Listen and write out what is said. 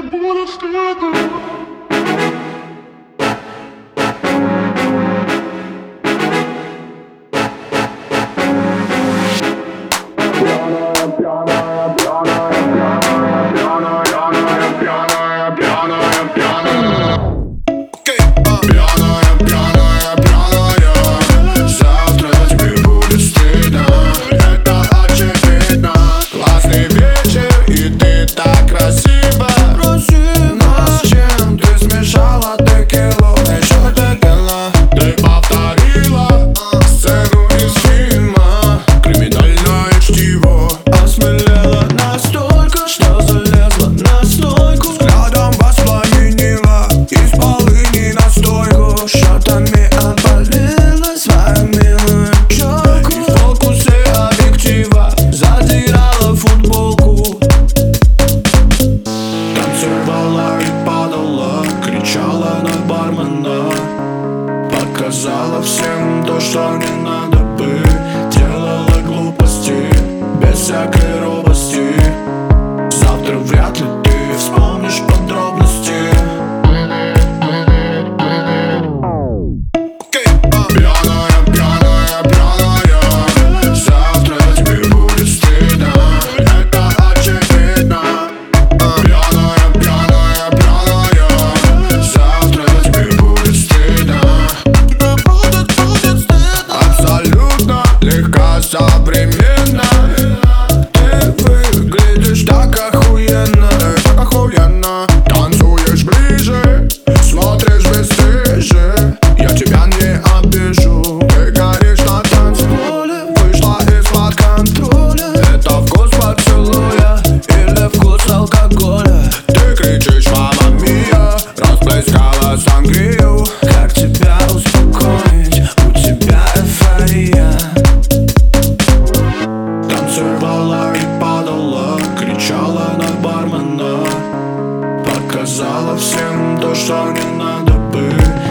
будет стыдно. Показала всем то, что не надо бы. Делала глупости без всякой робости. Завтра вряд ли ты вспомнишь подробности. Пьяная, пьяная, пьяная, завтра тебе будет стыдно. Это очевидно. Пьяная, пьяная, пьяная, завтра тебе будет стыдно. Легко, современно. Ты выглядишь так охуенно, так охуенно. Танцуешь ближе, смотришь бесстыже. Я тебя не обижу. Ты горишь на танцполе, вышла из-под контроля. Это вкус поцелуя или вкус алкоголя? Ты кричишь «Мамма мия», расплескала сангрию. Как тебя успокоить? У тебя эйфория. Танцевала и падала, кричала на бармена. Показала всем то, что не надо бы.